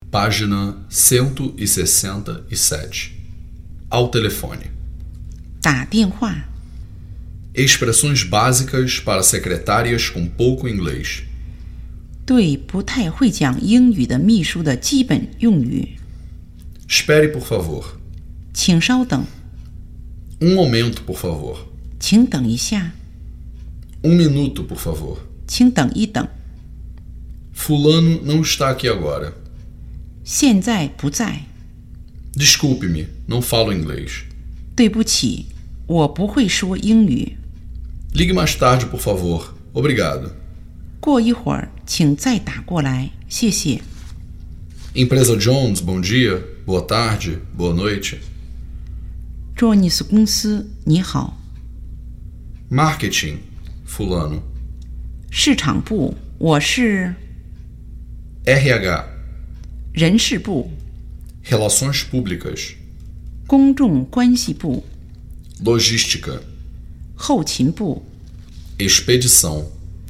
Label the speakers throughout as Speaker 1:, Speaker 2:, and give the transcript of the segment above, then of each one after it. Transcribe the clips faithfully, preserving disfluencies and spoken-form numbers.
Speaker 1: Página cento e sessenta e sete. Ao telefone.
Speaker 2: 打电话
Speaker 1: Expressões básicas para secretárias com pouco inglês.
Speaker 2: 对不太会讲英语的秘书的基本用语。
Speaker 1: Espere, por favor.
Speaker 2: 请稍等，
Speaker 1: Um momento, por favor.
Speaker 2: 请等一下，
Speaker 1: Um minuto, por favor.
Speaker 2: 请等一等，
Speaker 1: Fulano não está aqui agora.
Speaker 2: 现在不在。
Speaker 1: Desculpe-me, não falo inglês.
Speaker 2: 对不起，我不会说英语。
Speaker 1: Ligue mais tarde, por favor. Obrigado.
Speaker 2: 过一会儿，请再打过来，谢谢。
Speaker 1: Empresa Jones, bom dia, boa tarde, boa noite.
Speaker 2: Jones 公司，你好。
Speaker 1: Marketing, fulano.
Speaker 2: 市场部，我是
Speaker 1: R H.
Speaker 2: 人事部、
Speaker 1: Relações públicas.
Speaker 2: 公众关系部、
Speaker 1: Logística.
Speaker 2: 后勤部、
Speaker 1: Expedição.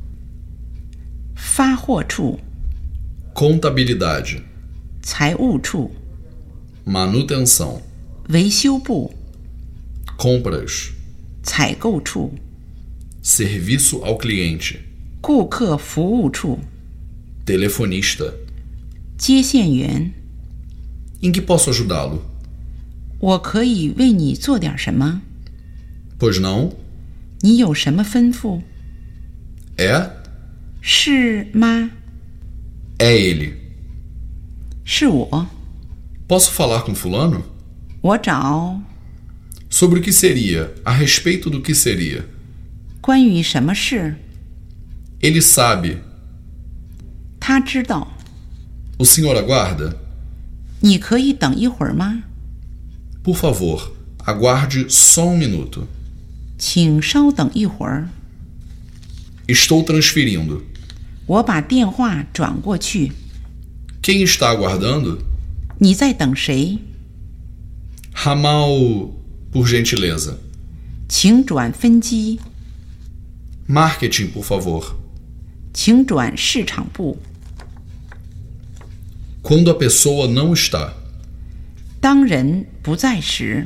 Speaker 2: 发货处、
Speaker 1: Contabilidade.
Speaker 2: 财务处、
Speaker 1: Manutenção.
Speaker 2: 维修部、
Speaker 1: Compras.
Speaker 2: 采购处、
Speaker 1: Serviço ao cliente.
Speaker 2: 顾客服务处、
Speaker 1: Telefonista.
Speaker 2: 接线员。
Speaker 1: Em que posso ajudá-lo?
Speaker 2: 我可以为你做点什么？
Speaker 1: Pois não?
Speaker 2: 你有什么吩咐？
Speaker 1: É?
Speaker 2: 是吗？
Speaker 1: É ele.
Speaker 2: 是我。
Speaker 1: Posso falar com fulano?
Speaker 2: 我找
Speaker 1: Sobre o que seria? A respeito do que seria?
Speaker 2: 关于什么事？
Speaker 1: Ele sabe.
Speaker 2: 他知道。
Speaker 1: O senhor aguarda?
Speaker 2: 你可以等一会儿吗？
Speaker 1: Por favor, aguarde só um minuto.
Speaker 2: 请稍等一会儿，
Speaker 1: Estou transferindo.
Speaker 2: 我把电话转过去。
Speaker 1: Quem está aguardando?
Speaker 2: 你在等谁？
Speaker 1: Ramal, por gentileza.
Speaker 2: 请转分机，
Speaker 1: Marketing, por favor.
Speaker 2: 请转市场部。
Speaker 1: Quando a pessoa não está.
Speaker 2: 当人不在时，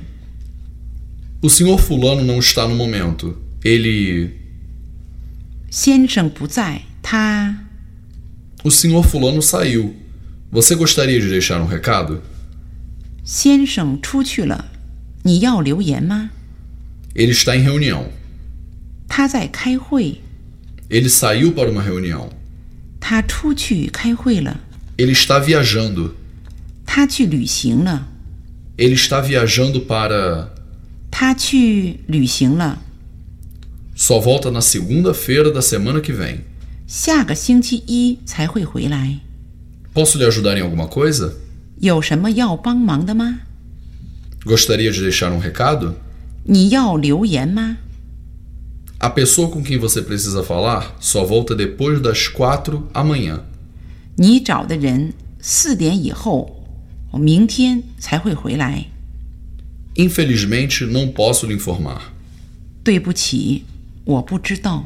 Speaker 1: O senhor fulano não está no momento. Ele...
Speaker 2: 先生不在，他
Speaker 1: O senhor fulano saiu. Você gostaria de deixar um recado?
Speaker 2: 先生出去了，你要留言吗？
Speaker 1: Ele está em reunião.
Speaker 2: 他在开会，
Speaker 1: Ele saiu para uma reunião.
Speaker 2: 他出去开会了，
Speaker 1: Ele está viajando.
Speaker 2: 他去旅行了，
Speaker 1: Ele está viajando para...
Speaker 2: 他去旅行了，
Speaker 1: Só volta na segunda-feira da semana que vem.
Speaker 2: 下个星期一才会回来。
Speaker 1: Posso lhe ajudar em alguma coisa?
Speaker 2: 有什么要帮忙的吗？
Speaker 1: Gostaria de deixar um recado?
Speaker 2: 你要留言吗？
Speaker 1: A pessoa com quem você precisa falar só volta depois das quatro amanhã.
Speaker 2: 你找的人四点以后，明天才会回来。
Speaker 1: Infelizmente, não posso lhe informar.
Speaker 2: 对不起，我不知道。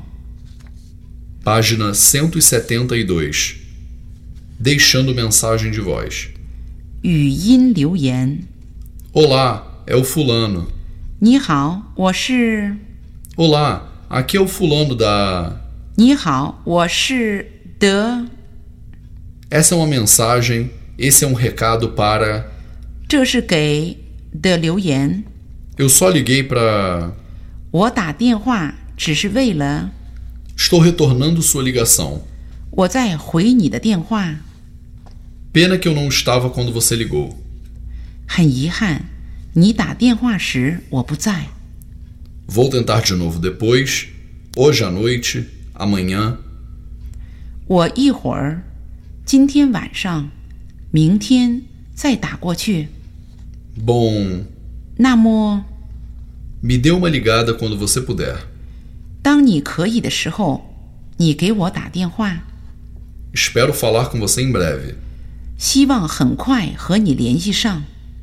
Speaker 1: Página cento e setenta e dois. Deixando mensagem de voz.
Speaker 2: 语音留言。
Speaker 1: Olá, é o fulano.
Speaker 2: 你好，我是。
Speaker 1: Olá, aqui é o fulano da...
Speaker 2: 你好，我是的。
Speaker 1: Essa é uma mensagem, esse é um recado para...
Speaker 2: 这是给的留言。
Speaker 1: Eu só liguei para...
Speaker 2: 我打电话只是为了。
Speaker 1: Estou retornando sua ligação.
Speaker 2: 我在回你的电话。
Speaker 1: Pena que eu não estava quando você ligou.
Speaker 2: 很遗憾，你打电话时我不在。
Speaker 1: Vou tentar de novo depois, hoje à noite, amanhã.
Speaker 2: 我一会儿，今天晚上，明天再打过去。
Speaker 1: Bom,
Speaker 2: 那么，
Speaker 1: me dê uma ligada quando você puder.
Speaker 2: 当你可以的时候，你给我打电话。
Speaker 1: Espero falar com você em breve.
Speaker 2: 希望很快和你联系上。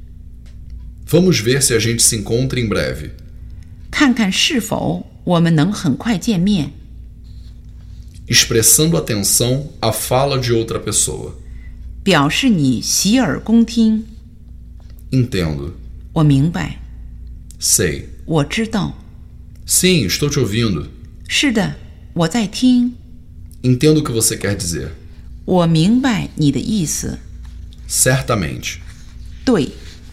Speaker 1: Vamos ver se a gente se encontra em breve.
Speaker 2: 看看是否我们能很快见面。
Speaker 1: Expressando atenção à fala de outra pessoa.
Speaker 2: 表示你洗耳恭听。
Speaker 1: Entendo.
Speaker 2: 我明白，
Speaker 1: Sei.
Speaker 2: 我知道。
Speaker 1: Sim, estou te ouvindo.
Speaker 2: 是的，我在听。
Speaker 1: Entendo o que você quer dizer.
Speaker 2: 我明白你的意思。
Speaker 1: Certamente.
Speaker 2: 对，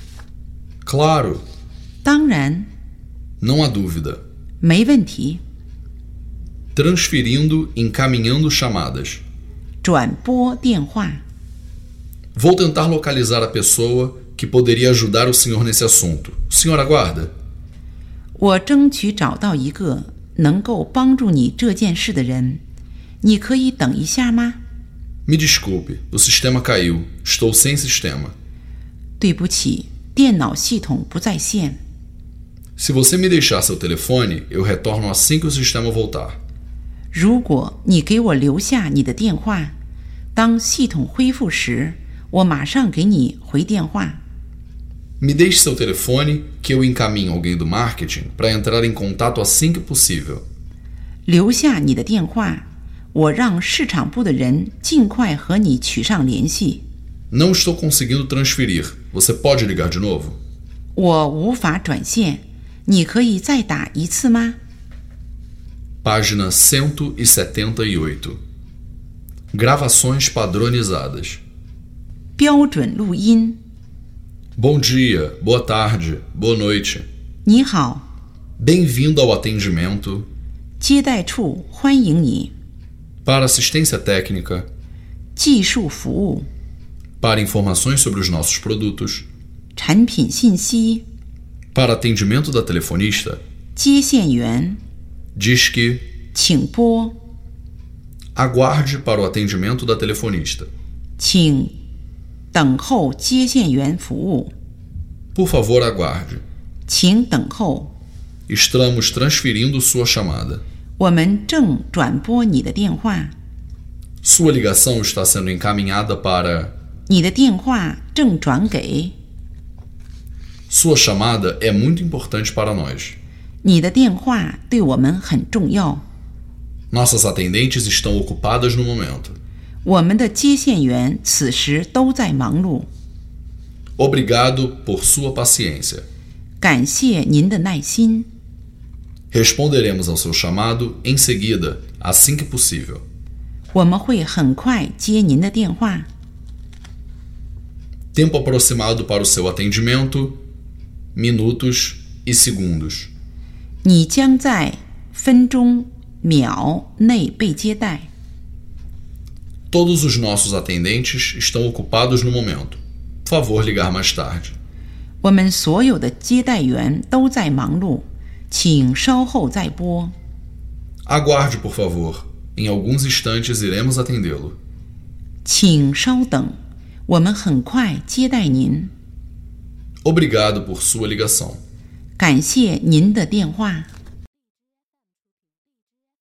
Speaker 1: Claro.
Speaker 2: 当然，
Speaker 1: Não há dúvida.
Speaker 2: 没问题。
Speaker 1: Transferindo, encaminhando chamadas.
Speaker 2: 转拨电话，
Speaker 1: Vou tentar localizar a pessoa que poderia ajudar o senhor nesse assunto. O senhor aguarda?
Speaker 2: 我争取找到一个能够帮助你这件事的人。你可以等一下吗？
Speaker 1: Me desculpe, o sistema caiu. Estou sem sistema.
Speaker 2: 对不起，电脑系统不在线。
Speaker 1: Se você me deixar seu telefone, eu retorno assim que o sistema voltar.
Speaker 2: 如果你给我留下你的电话，当系统恢复时，我马上给你回电话。
Speaker 1: Me deixe seu telefone que eu encaminho alguém do marketing para entrar em contato assim que possível.
Speaker 2: 留下你的电话，我让市场部的人尽快和你取上联系。
Speaker 1: Não estou conseguindo transferir. Você pode ligar de novo?
Speaker 2: 我无法转线，你可以再打一次吗？
Speaker 1: Página cento e setenta e oito. Gravações padronizadas.
Speaker 2: 标准录音。
Speaker 1: Bom dia, boa tarde, boa noite.
Speaker 2: 你好，
Speaker 1: Bem-vindo ao atendimento.
Speaker 2: 接待处欢迎你。
Speaker 1: Para assistência técnica.
Speaker 2: 技术服务、
Speaker 1: Para informações sobre os nossos produtos.
Speaker 2: 产品信息、
Speaker 1: Para atendimento da telefonista.
Speaker 2: 接线员，
Speaker 1: Diz que
Speaker 2: 请拨，
Speaker 1: aguarde para o atendimento da telefonista.
Speaker 2: 请等候接线员服务，
Speaker 1: Por favor, aguarde.
Speaker 2: 请等候，
Speaker 1: Estamos transferindo sua chamada.
Speaker 2: 我们正转拨你的电话，
Speaker 1: Sua ligação está sendo encaminhada para.
Speaker 2: 你的电话正转给，
Speaker 1: Sua chamada é muito importante para nós.
Speaker 2: 你的电话对我们很重要。
Speaker 1: Nossas atendentes estão ocupadas no momento.
Speaker 2: 我们的接线员此时都在忙碌。
Speaker 1: Obrigado por sua paciência.
Speaker 2: 感谢您的耐心，
Speaker 1: Responderemos ao seu chamado em seguida, assim que possível.
Speaker 2: 我们会很快接您的电话。
Speaker 1: Tempo aproximado para o seu atendimento: minutos e segundos.
Speaker 2: 你将在分钟、秒内被接待。
Speaker 1: Todos os nossos atendentes estão ocupados no momento. Por favor, ligar mais tarde.
Speaker 2: 我们所有的接待员都在忙碌，请稍后再拨。
Speaker 1: Aguarde, por favor. Em alguns instantes iremos atendê-lo.
Speaker 2: 请稍等，我们很快接待您。
Speaker 1: Obrigado por sua ligação.
Speaker 2: 感谢您的电话。